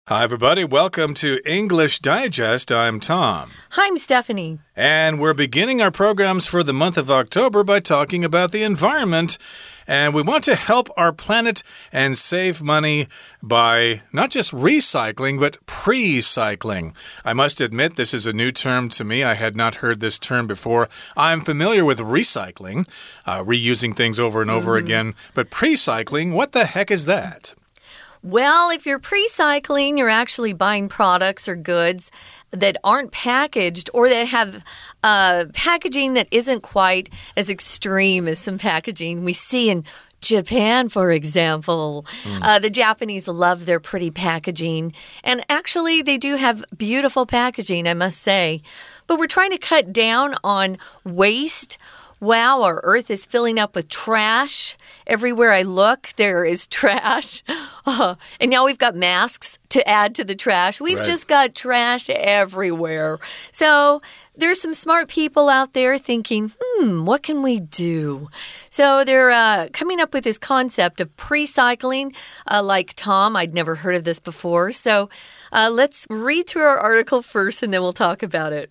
Hi, everybody. Welcome to English Digest. I'm Tom. Hi, I'm Stephanie. And we're beginning our programs for the month of October by talking about the environment. And we want to help our planet and save money by not just recycling, but pre-cycling. I must admit, this is a new term to me. I had not heard this term before. I'm familiar with recycling, reusing things over and over again. But pre-cycling, what the heck is that? Well, if you're pre-cycling, you're actually buying products or goods that aren't packaged or that have packaging that isn't quite as extreme as some packaging we see in Japan, for example. The Japanese love their pretty packaging. And actually, they do have beautiful packaging, I must say. But we're trying to cut down on waste. Wow, our earth is filling up with trash. Everywhere I look, there is trash. And now we've got masks to add to the trash. We've just got trash everywhere. So there's some smart people out there thinking, what can we do? So they're coming up with this concept of pre-cycling. Like Tom, I'd never heard of this before. So let's read through our article first, and then we'll talk about it.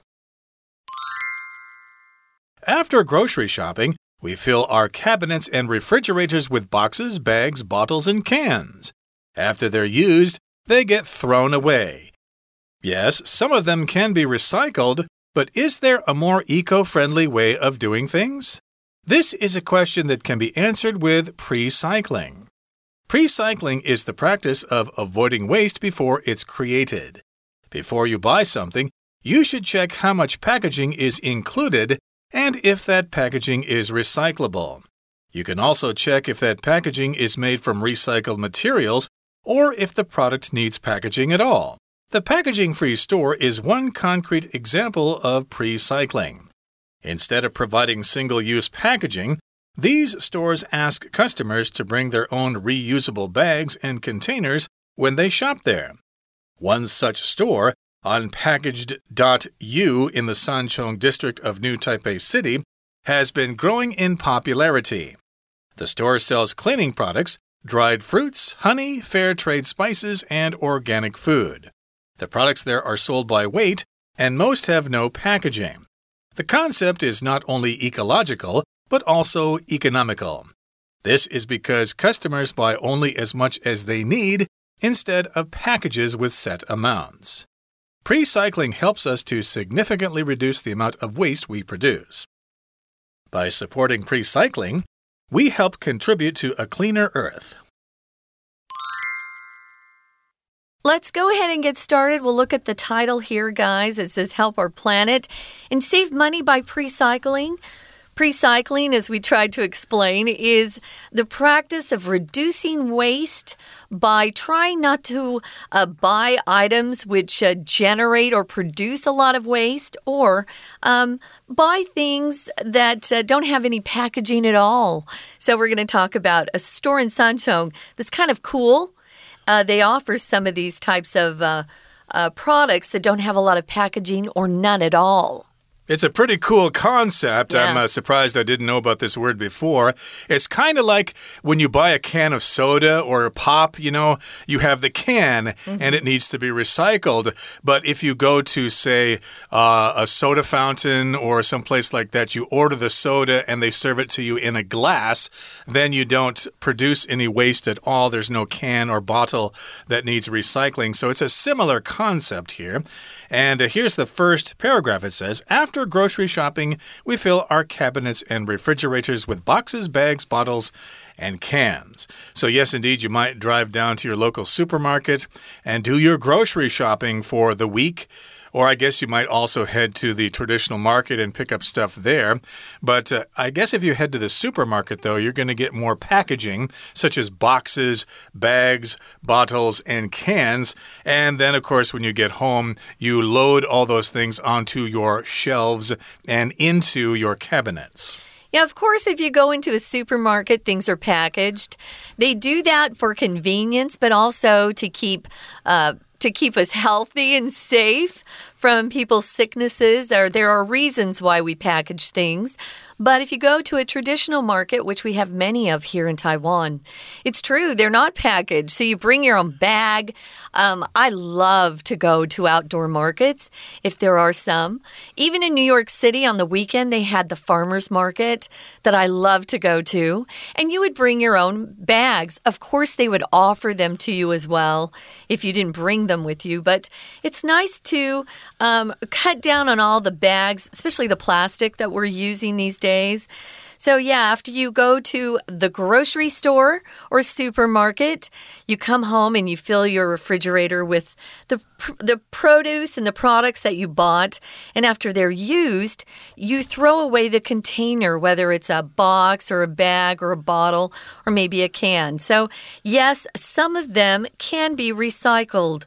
After grocery shopping, we fill our cabinets and refrigerators with boxes, bags, bottles, and cans. After they're used, they get thrown away. Yes, some of them can be recycled, but is there a more eco-friendly way of doing things? This is a question that can be answered with pre-cycling. Pre-cycling is the practice of avoiding waste before it's created. Before you buy something, you should check how much packaging is included and if that packaging is recyclable. You can also check if that packaging is made from recycled materials or if the product needs packaging at all. The packaging-free store is one concrete example of pre-cycling. Instead of providing single-use packaging, these stores ask customers to bring their own reusable bags and containers when they shop there. One such store, Unpackaged.U in the Sanchong district of New Taipei City, has been growing in popularity. The store sells cleaning products, dried fruits, honey, fair trade spices, and organic food. The products there are sold by weight, and most have no packaging. The concept is not only ecological, but also economical. This is because customers buy only as much as they need instead of packages with set amounts. Pre-cycling helps us to significantly reduce the amount of waste we produce. By supporting pre-cycling, we help contribute to a cleaner Earth. Let's go ahead and get started. We'll look at the title here, guys. It says Help Our Planet and Save Money by Pre-cycling. Pre-cycling, as we tried to explain, is the practice of reducing waste by trying not to buy items which generate or produce a lot of waste, or buy things that don't have any packaging at all. So we're going to talk about a store in Sanchong that's kind of cool. They offer some of these types of products that don't have a lot of packaging or none at all. It's a pretty cool concept. Yeah. I'm surprised I didn't know about this word before. It's kind of like when you buy a can of soda or a pop, you have the can and it needs to be recycled. But if you go to, say, a soda fountain or someplace like that, you order the soda and they serve it to you in a glass, then you don't produce any waste at all. There's no can or bottle that needs recycling. So it's a similar concept here. And here's the first paragraph. It says, After grocery shopping, we fill our cabinets and refrigerators with boxes, bags, bottles, and cans. So yes, indeed, you might drive down to your local supermarket and do your grocery shopping for the week. Or I guess you might also head to the traditional market and pick up stuff there. But I guess if you head to the supermarket, though, you're going to get more packaging, such as boxes, bags, bottles, and cans. And then, of course, when you get home, you load all those things onto your shelves and into your cabinets. Yeah, of course, if you go into a supermarket, things are packaged. They do that for convenience, but also to keep us healthy and safe from people's sicknesses. There are reasons why we package things. But if you go to a traditional market, which we have many of here in Taiwan, it's true, they're not packaged. So you bring your own bag. I love to go to outdoor markets, if there are some. Even in New York City on the weekend, they had the farmers market that I love to go to. And you would bring your own bags. Of course, they would offer them to you as well if you didn't bring them with you. But it's nice to cut down on all the bags, especially the plastic that we're using these days. So yeah, after you go to the grocery store or supermarket, you come home and you fill your refrigerator with the produce and the products that you bought. And after they're used, you throw away the container, whether it's a box or a bag or a bottle or maybe a can. So yes, some of them can be recycled.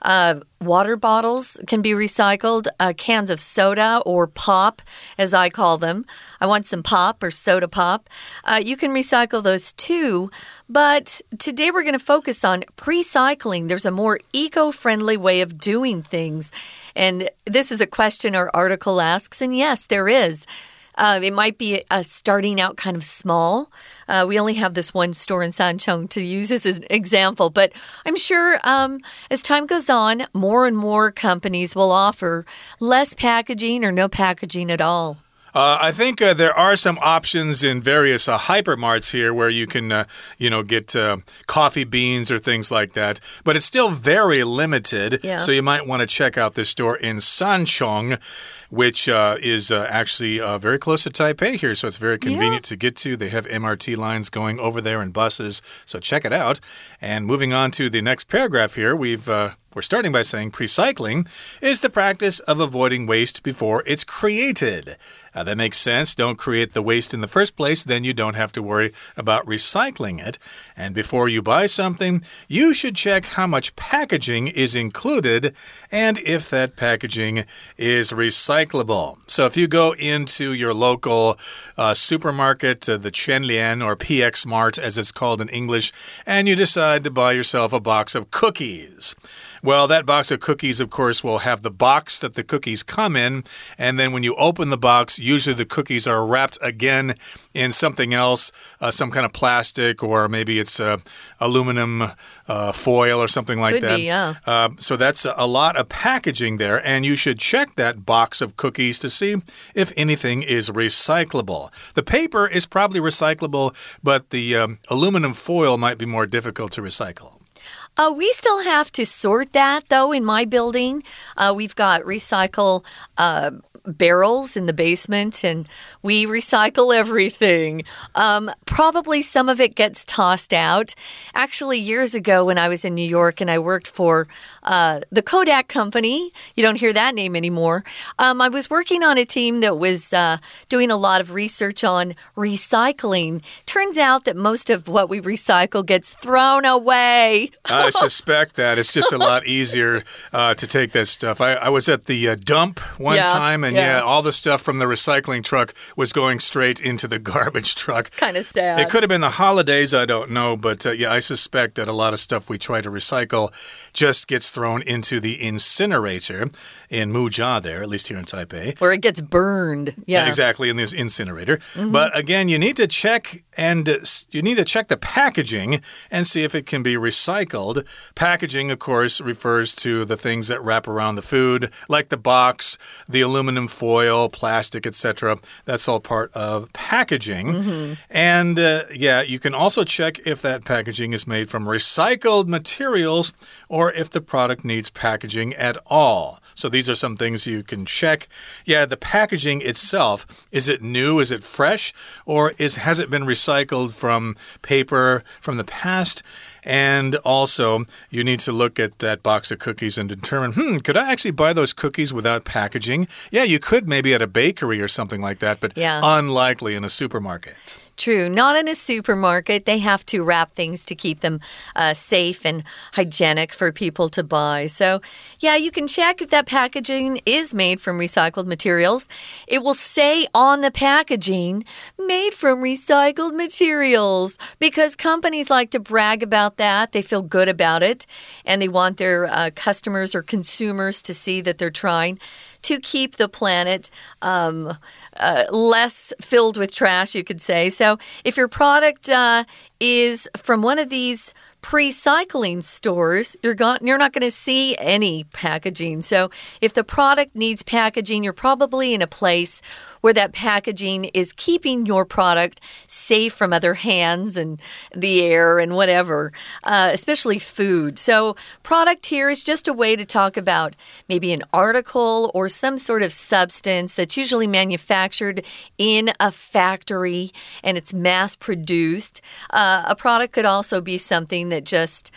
Water bottles can be recycled, cans of soda or pop, as I call them. I want some pop or soda pop. You can recycle those too. But today we're going to focus on recycling. There's a more eco-friendly way of doing things. And this is a question our article asks, and yes, there is. It might be starting out kind of small. We only have this one store in Sanchong to use as an example. But I'm sure as time goes on, more and more companies will offer less packaging or no packaging at all. I think there are some options in various hypermarts here where you can, get coffee beans or things like that. But it's still very limited. Yeah. So you might want to check out this store in Sanchong, which is actually very close to Taipei here. So it's very convenient to get to. They have MRT lines going over there and buses. So check it out. And moving on to the next paragraph here, we're starting by saying precycling is the practice of avoiding waste before it's created. That makes sense. Don't create the waste in the first place, then you don't have to worry about recycling it. And before you buy something, you should check how much packaging is included and if that packaging is recyclable. So if you go into your local supermarket, the Quanlian or PX Mart as it's called in English, and you decide to buy yourself a box of cookies. Well, that box of cookies, of course, will have the box that the cookies come in. And then when you open the box, usually the cookies are wrapped again in something else, some kind of plastic, or maybe it's aluminum foil or something like that. Could be, yeah. So that's a lot of packaging there. And you should check that box of cookies to see if anything is recyclable. The paper is probably recyclable, but the aluminum foil might be more difficult to recycle. We still have to sort that, though, in my building. We've got recycle barrels in the basement, and we recycle everything. Probably some of it gets tossed out. Actually, years ago when I was in New York and I worked for the Kodak company, you don't hear that name anymore, I was working on a team that was doing a lot of research on recycling. Turns out that most of what we recycle gets thrown away. I suspect that. It's just a lot easier to take that stuff. I was at the dump one time, and all the stuff from the recycling truck was going straight into the garbage truck. Kind of sad. It could have been the holidays, I don't know, but I suspect that a lot of stuff we try to recycle just gets thrown into the incinerator in Mujia there, at least here in Taipei. Where it gets burned. Yeah, exactly, in this incinerator. But again, you need to check the packaging and see if it can be recycled. Packaging, of course, refers to the things that wrap around the food, like the box, the aluminum foil, plastic, etc. That's all part of packaging. And you can also check if that packaging is made from recycled materials or if the product needs packaging at all. So these are some things you can check. Yeah, the packaging itself, is it new? Is it fresh? Or has it been recycled from paper from the past? And also, you need to look at that box of cookies and determine, could I actually buy those cookies without packaging? Yeah, you could maybe at a bakery or something like that, but unlikely in a supermarket. True. Not in a supermarket. They have to wrap things to keep them safe and hygienic for people to buy. So, yeah, you can check if that packaging is made from recycled materials. It will say on the packaging, made from recycled materials, because companies like to brag about that. They feel good about it, and they want their customers or consumers to see that they're trying to keep the planet less filled with trash, you could say. So if your product is from one of these pre-cycling stores, you're not going to see any packaging. So if the product needs packaging, you're probably in a place where that packaging is keeping your product safe from other hands and the air and whatever, especially food. So product here is just a way to talk about maybe an article or some sort of substance that's usually manufactured in a factory and it's mass-produced. A product could also be something that just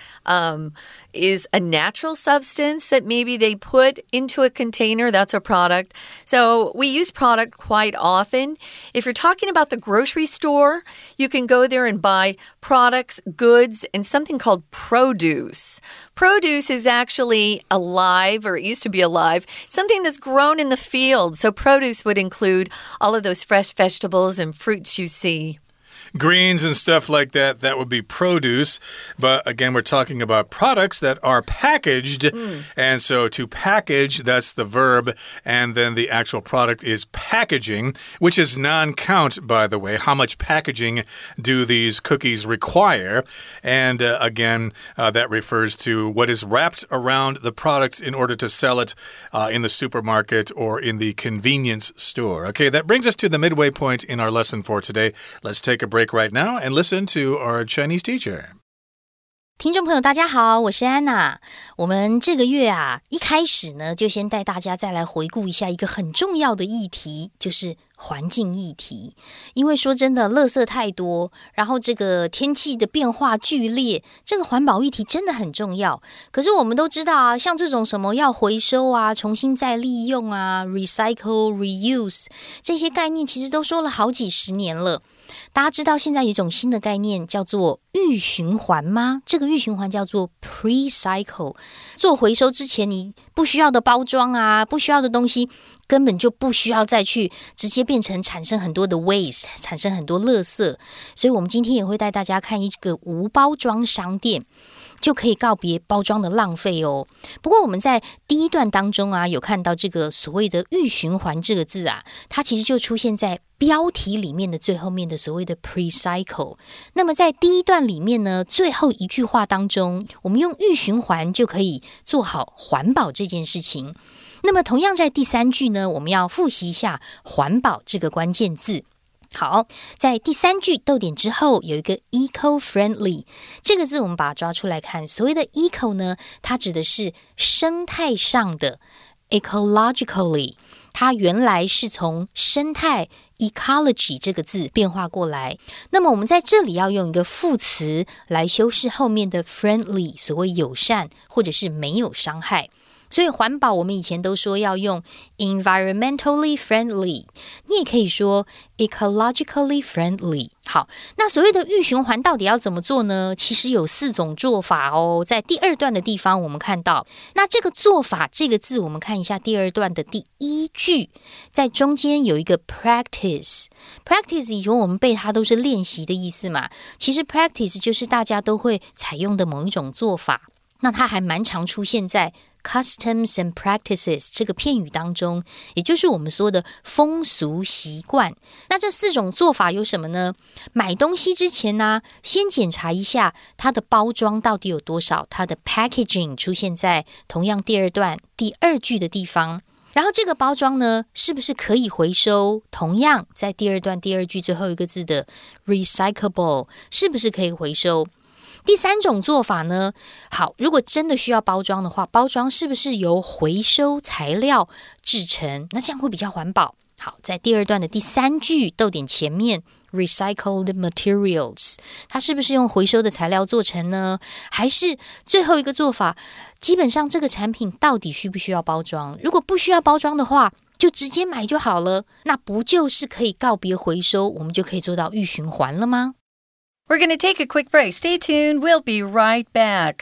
is a natural substance that maybe they put into a container. That's a product. So we use product quite often. If you're talking about the grocery store, you can go there and buy products, goods, and something called produce. Produce is actually alive, or it used to be alive, something that's grown in the field. So produce would include all of those fresh vegetables and fruits you see. Greens and stuff like that, that would be produce. But again, we're talking about products that are packaged. And so to package, that's the verb. And then the actual product is packaging, which is non-count, by the way. How much packaging do these cookies require? And again, that refers to what is wrapped around the product in order to sell it in the supermarket or in the convenience store. Okay, that brings us to the midway point in our lesson for today. Let's take a break right now and listen to our Chinese teacher. 听众朋友大家好，我是安娜。我们这个月一開始呢，就先帶大家再來回顧一下一個很重要的議題，就是環境議題。因為說真的，垃圾太多，然後這個天氣的變化劇烈，這個環保議題真的很重要。可是我們都知道像這種什麼要回收重新再利用recycle, reuse 這些概念其實都說了好幾十年了。大家知道現在有一種新的概念叫做預循環嗎？這個預循環叫做 pre-cycle。做回收之前，你不需要的包裝不需要的東西，根本就不需要再去直接變成產生很多的 waste， 產生很多垃圾。所以我們今天也會帶大家看一個無包裝商店，就可以告別包裝的浪費哦。不過我們在第一段當中有看到這個所謂的預循環這個字它其實就出現在標題裡面的最後面的所謂的 pre-cycle。那麼在第一段裡面呢，最後一句話當中，我們用預循環就可以做好環保這件事情。那麼同樣在第三句呢，我們要複習一下環保這個關鍵字。好，在第三句逗點之後有一個 eco-friendly 這個字，我們把它抓出來看。所謂的 eco 呢，它指的是生態上的 ecologically， 它原來是從生態 ecology 這個字變化過來。那麼我們在這裡要用一個副詞來修飾後面的 friendly， 所謂友善或者是沒有傷害。所以環保我們以前都說要用 environmentally friendly， 你也可以說 ecologically friendly。 好，那所謂的預循環到底要怎麼做呢？其實有4種做法哦。在第二段的地方我們看到，那這個做法這個字，我們看一下第二段的第一句，在中間有一個 practice。 practice 以前我們背它都是練習的意思嘛，其實 practice 就是大家都會採用的某一種做法，那它還蠻常出現在Customs and practices 這個片語當中，也就是我們說的風俗習慣。那這4種做法有什麼呢？買東西之前呢，先檢查一下它的包裝到底有多少，它的 packaging 出現在同樣第二段第二句的地方。然後這個包裝呢，是不是可以回收？同樣在第二段第二句最後一個字的 recyclable 是不是可以回收？第三種做法呢，好，如果真的需要包裝的話，包裝是不是由回收材料製成？那這樣會比較環保。好，在第二段的第三句逗點前面 recycled materials， 它是不是用回收的材料做成呢？還是最後一個做法，基本上這個產品到底需不需要包裝？如果不需要包裝的話，就直接買就好了，那不就是可以告別回收，我們就可以做到預循環了嗎？We're going to take a quick break. Stay tuned. We'll be right back.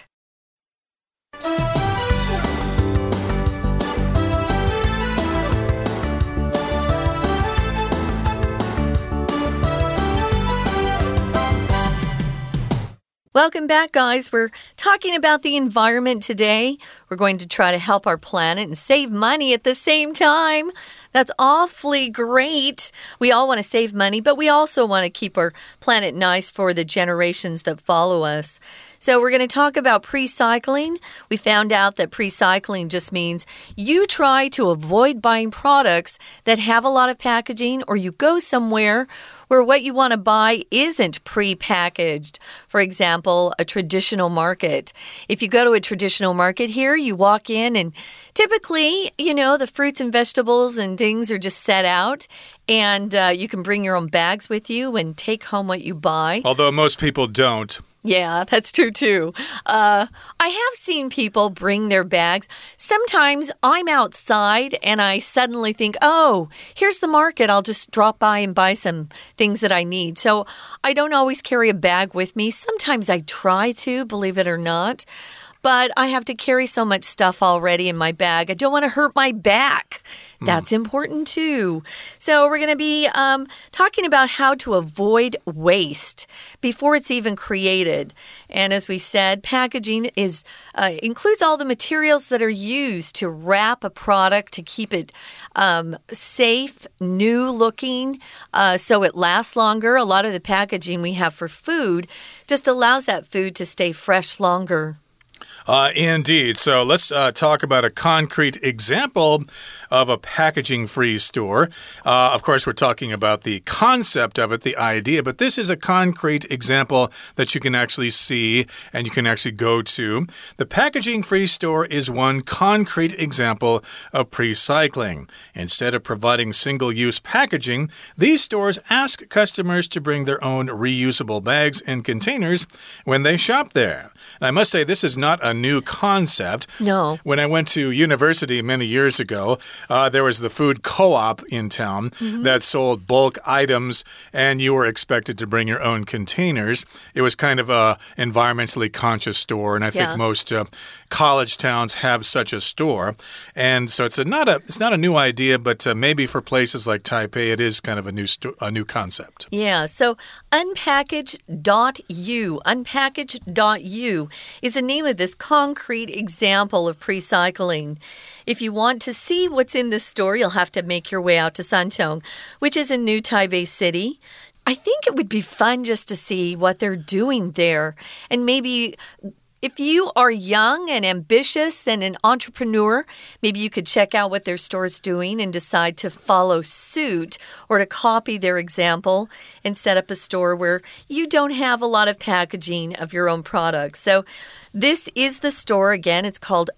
Welcome back, guys. We're talking about the environment today. We're going to try to help our planet and save money at the same time. That's awfully great. We all want to save money, but we also want to keep our planet nice for the generations that follow us. So we're going to talk about pre-cycling. We found out that pre-cycling just means you try to avoid buying products that have a lot of packaging, or you go somewhere where what you want to buy isn't pre-packaged. For example, a traditional market. If you go to a traditional market here, you walk in and typically, you know, the fruits and vegetables and things are just set out, and you can bring your own bags with you and take home what you buy. Although most people don't. Yeah, that's true too. I have seen people bring their bags. Sometimes I'm outside and I suddenly think, oh, here's the market. I'll just drop by and buy some things that I need. So I don't always carry a bag with me. Sometimes I try to, believe it or not. But I have to carry so much stuff already in my bag. I don't want to hurt my back. That's important too. So we're going to be talking about how to avoid waste before it's even created. And as we said, packaging includes all the materials that are used to wrap a product to keep it safe, new looking, so it lasts longer. A lot of the packaging we have for food just allows that food to stay fresh longer. Indeed. So let's talk about a concrete example of a packaging-free store. Of course, we're talking about the concept of it, the idea, but this is a concrete example that you can actually see and you can actually go to. The packaging-free store is one concrete example of pre-cycling. Instead of providing single-use packaging, these stores ask customers to bring their own reusable bags and containers when they shop there. And I must say, this is not a new concept. No. When I went to university many years ago, there was the food co-op in town that sold bulk items, and you were expected to bring your own containers. It was kind of a environmentally conscious store, and I think most college towns have such a store. And so it's not a new idea, but maybe for places like Taipei, it is kind of a new concept. Yeah, so unpackage.u is the name of this concrete example of pre-cycling. If you want to see what's in this store, you'll have to make your way out to Sanchong, which is in New Taipei City. I think it would be fun just to see what they're doing there, and maybe if you are young and ambitious and an entrepreneur, maybe you could check out what their store's doing and decide to follow suit or to copy their example and set up a store where you don't have a lot of packaging of your own products. So this is the store. Again, it's called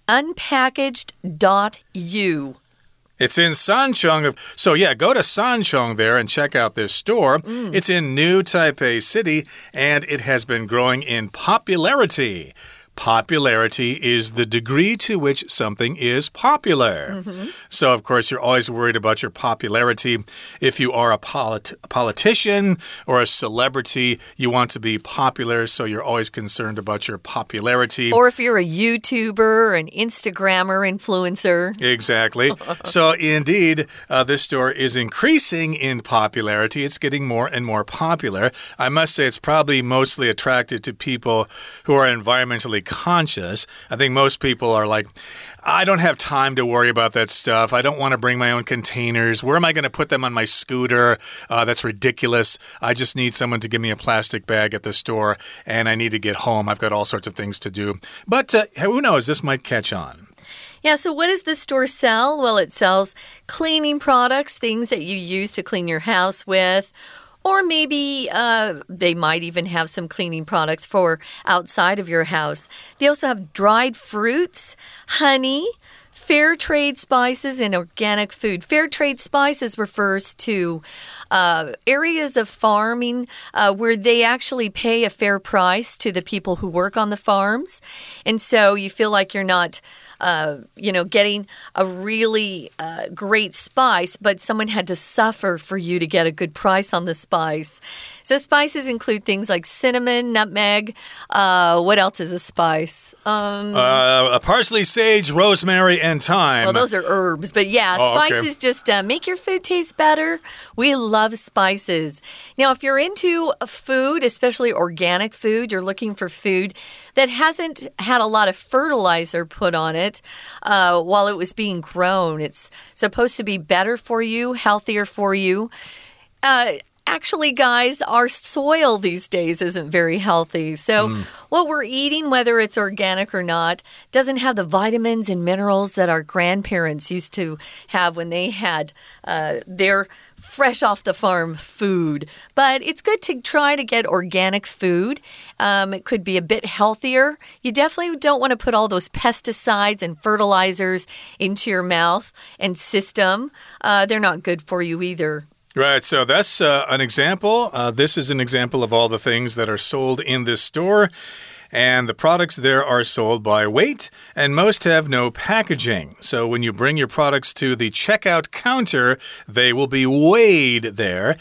unpackaged.u. It's in Sanchong. So, yeah, go to Sanchong there and check out this store. It's in New Taipei City, and it has been growing in popularity. Popularity is the degree to which something is popular. So, of course, you're always worried about your popularity. If you are a politician or a celebrity, you want to be popular, so you're always concerned about your popularity. Or if you're a YouTuber, an Instagrammer, influencer. Exactly. So, indeed, this store is increasing in popularity. It's getting more and more popular. I must say it's probably mostly attracted to people who are environmentally conscious. I think most people are like, I don't have time to worry about that stuff. I don't want to bring my own containers. Where am I going to put them on my scooter? That's ridiculous. I just need someone to give me a plastic bag at the store, and I need to get home. I've got all sorts of things to do. But who knows? This might catch on. Yeah, so what does this store sell? Well, it sells cleaning products, things that you use to clean your house with. Or maybe they might even have some cleaning products for outside of your house. They also have dried fruits, honey, fair trade spices, and organic food. Fair trade spices refers to areas of farming where they actually pay a fair price to the people who work on the farms. And so you feel like you're not getting a really great spice, but someone had to suffer for you to get a good price on the spice. So spices include things like cinnamon, nutmeg. What else is a spice? Parsley, sage, rosemary, and thyme. Well, those are herbs. But yeah, spices just make your food taste better. We love spices. Now, if you're into food, especially organic food, you're looking for food that hasn't had a lot of fertilizer put on it while it was being grown. It's supposed to be better for you, healthier for you. Actually, guys, our soil these days isn't very healthy. So what we're eating, whether it's organic or not, doesn't have the vitamins and minerals that our grandparents used to have when they had their fresh off the farm food. But it's good to try to get organic food. It could be a bit healthier. You definitely don't want to put all those pesticides and fertilizers into your mouth and system. They're not good for you either. Right, so that's an example. This is an example of all the things that are sold in this store. And the products there are sold by weight, and most have no packaging. So when you bring your products to the checkout counter, they will be weighed there.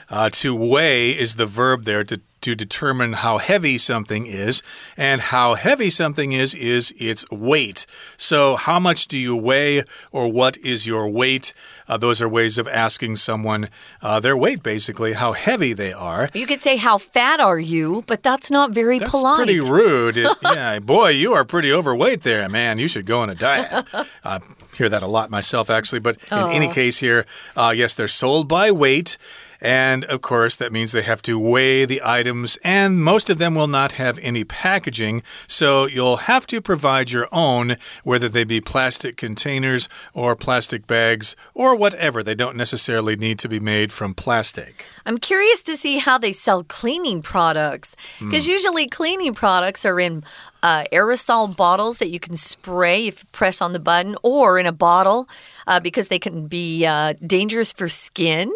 To weigh is the verb there to determine how heavy something is, and how heavy something is its weight. So how much do you weigh, or what is your weight? Those are ways of asking someone their weight, basically, how heavy they are. You could say, how fat are you? But that's not very polite. That's pretty rude. Yeah, boy, you are pretty overweight there, man. You should go on a diet. I hear that a lot myself, actually. But in any case here, yes, they're sold by weight. And, of course, that means they have to weigh the items, and most of them will not have any packaging, so you'll have to provide your own, whether they be plastic containers or plastic bags or whatever. They don't necessarily need to be made from plastic. I'm curious to see how they sell cleaning products, because usually cleaning products are in aerosol bottles that you can spray if you press on the button, or in a bottle because they can be dangerous for skin.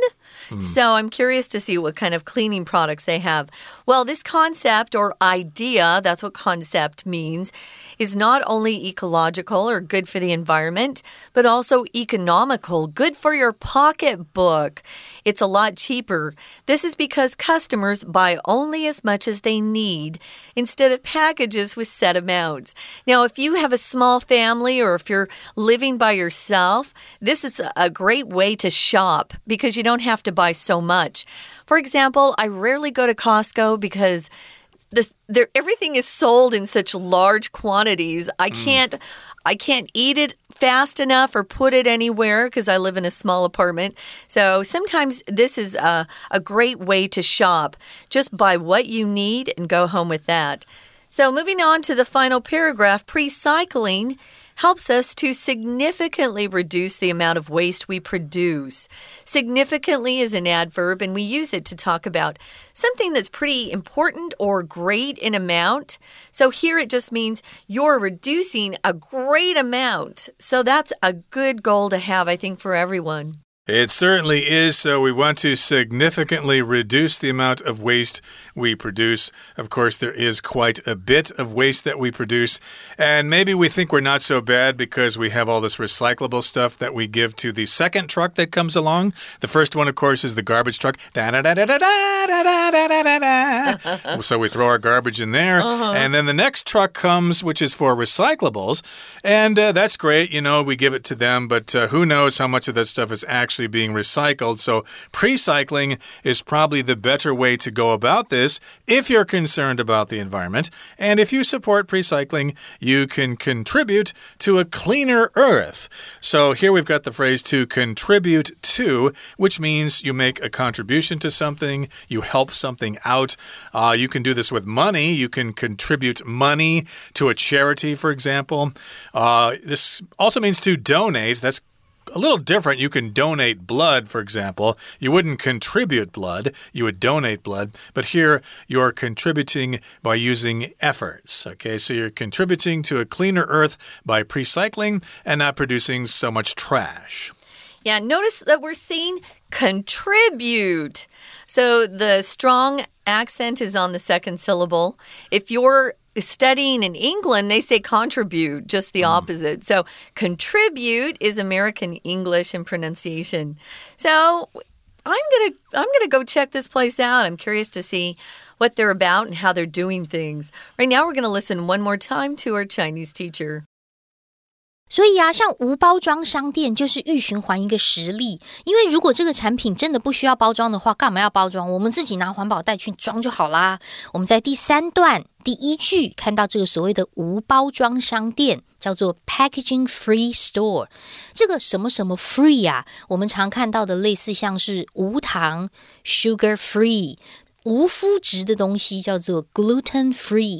So I'm curious to see what kind of cleaning products they have. Well, this concept or idea, that's what concept means, is not only ecological or good for the environment, but also economical, good for your pocketbook. It's a lot cheaper. This is because customers buy only as much as they need instead of packages with set amounts. Now, if you have a small family or if you're living by yourself, this is a great way to shop because you don't have to buy so much. For example, I rarely go to Costco because everything is sold in such large quantities. I can't eat it fast enough or put it anywhere because I live in a small apartment. So sometimes this is a great way to shop. Just buy what you need and go home with that. So moving on to the final paragraph, pre-cycling helps us to significantly reduce the amount of waste we produce. Significantly is an adverb, and we use it to talk about something that's pretty important or great in amount. So here it just means you're reducing a great amount. So that's a good goal to have, I think, for everyone. It certainly is, so we want to significantly reduce the amount of waste we produce. Of course, there is quite a bit of waste that we produce, and maybe we think we're not so bad because we have all this recyclable stuff that we give to the second truck that comes along. The first one, of course, is the garbage truck. So we throw our garbage in there, and then the next truck comes, which is for recyclables, and that's great. You know, we give it to them, but who knows how much of that stuff is actually being recycled. So pre-cycling is probably the better way to go about this if you're concerned about the environment. And if you support pre-cycling, you can contribute to a cleaner earth. So here we've got the phrase to contribute to, which means you make a contribution to something, you help something out. You can do this with money. You can contribute money to a charity, for example. This also means to donate. That's a little different. You can donate blood, for example. You wouldn't contribute blood, you would donate blood. But here, you're contributing by using efforts. Okay, so you're contributing to a cleaner earth by pre-cycling and not producing so much trash. Yeah, notice that we're saying contribute. So the strong accent is on the second syllable. If you're studying in England, they say contribute, just the opposite. So contribute is American English in pronunciation. So I'm gonna go check this place out. I'm curious to see what they're about and how they're doing things. Right now, we're gonna listen one more time to our Chinese teacher. 所以啊，像无包装商店就是预循環一個實例，因為如果這個產品真的不需要包裝的話，幹嘛要包裝？我們自己拿環保袋去裝就好啦。我們在第3段第1句看到這個所謂的無包裝商店，叫做 packaging free store。這個什麼什麼 free 啊，我們常看到的類似像是無糖 sugar free， 無麩質的東西叫做 gluten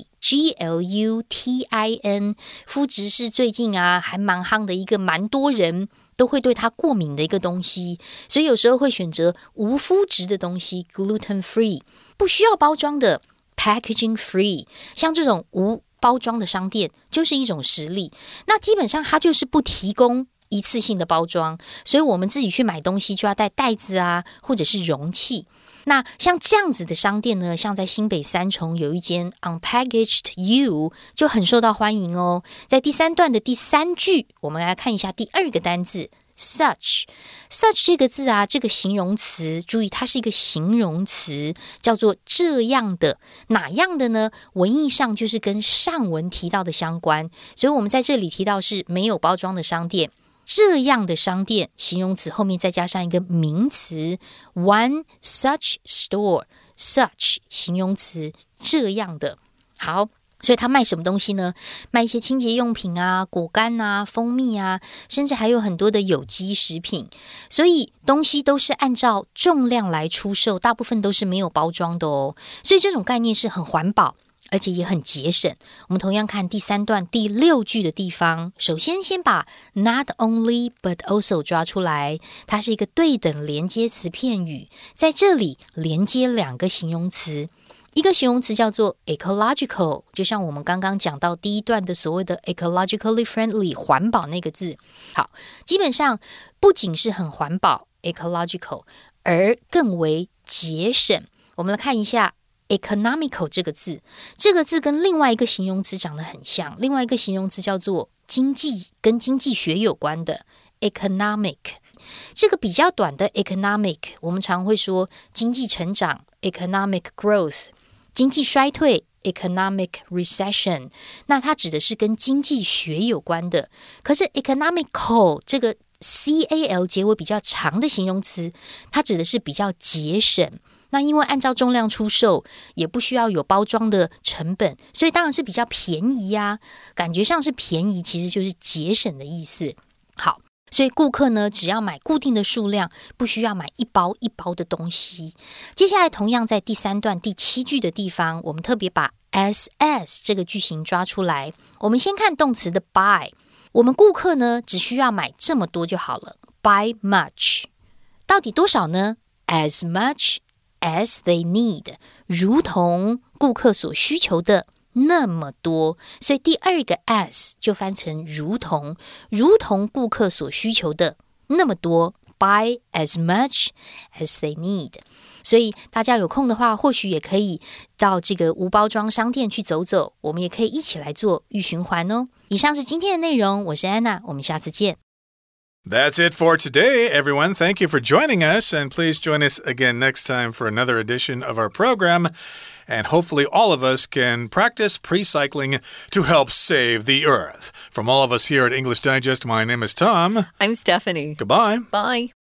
free。GLUTIN 麩質是最近啊還蠻夯的一個蠻多人都會對它過敏的一個東西，所以有時候會選擇無麩質的東西 gluten free， 不需要包裝的 packaging free。 像這種無包裝的商店就是一種實例，那基本上它就是不提供一次性的包裝，所以我們自己去買東西就要帶袋子啊或者是容器。那像這樣子的商店呢，像在新北三重有一間 Unpackaged You 就很受到歡迎哦。在第3段的第3句，我們來看一下第2個單字 such。 such 這個字啊，這個形容詞，注意它是一個形容詞，叫做這樣的。哪樣的呢？文義上就是跟上文提到的相關，所以我們在這裡提到是沒有包裝的商店。這樣的商店，形容詞後面再加上一個名詞 one such store， such 形容詞，這樣的。好，所以他賣什麼東西呢？賣一些清潔用品啊、果乾啊、蜂蜜啊，甚至還有很多的有機食品。所以東西都是按照重量來出售，大部分都是沒有包裝的哦。所以這種概念是很環保，而且也很節省。我們同樣看第3段第6句的地方，首先把 not only but also 抓出來，它是一個對等連接詞片語，在這裡連接2個形容詞，一個形容詞叫做 ecological， 就像我們剛剛講到第1段的所謂的 ecologically friendly 環保那個字。好，基本上不僅是很環保 ecological， 而更為節省。我們來看一下economical 這個字，這個字跟另外一個形容詞長得很像，另外一個形容詞叫做經濟，跟經濟學有關的 economic。 這個比較短的 economic， 我們常會說經濟成長 economic growth， 經濟衰退 economic recession， 那它指的是跟經濟學有關的。可是 economical 這個 cal 結尾比較長的形容詞，它指的是比較節省。那因為按照重量出售，也不需要有包裝的成本，所以當然是比較便宜呀。感覺上是便宜，其實就是節省的意思。好，所以顧客呢，只要買固定的數量，不需要買一包一包的東西。接下來同樣在第3段第7句的地方，我們特別把 as 這個句型抓出來。我們先看動詞的 buy， 我們顧客呢，只需要買這麼多就好了。buy much， 到底多少呢？ as much as they need， 如同顧客所需求的那麼多，所以第2個 as 就翻成如同，如同顧客所需求的那麼多 buy as much as they need。 所以大家有空的話，或許也可以到這個無包裝商店去走走，我們也可以一起來做預循環哦。以上是今天的內容，我是安娜，我們下次見。 That's it for today, everyone. Thank you for joining us, and please join us again next time for another edition of our program. And hopefully all of us can practice pre-cycling to help save the earth. From all of us here at English Digest, my name is Tom. I'm Stephanie. Goodbye. Bye.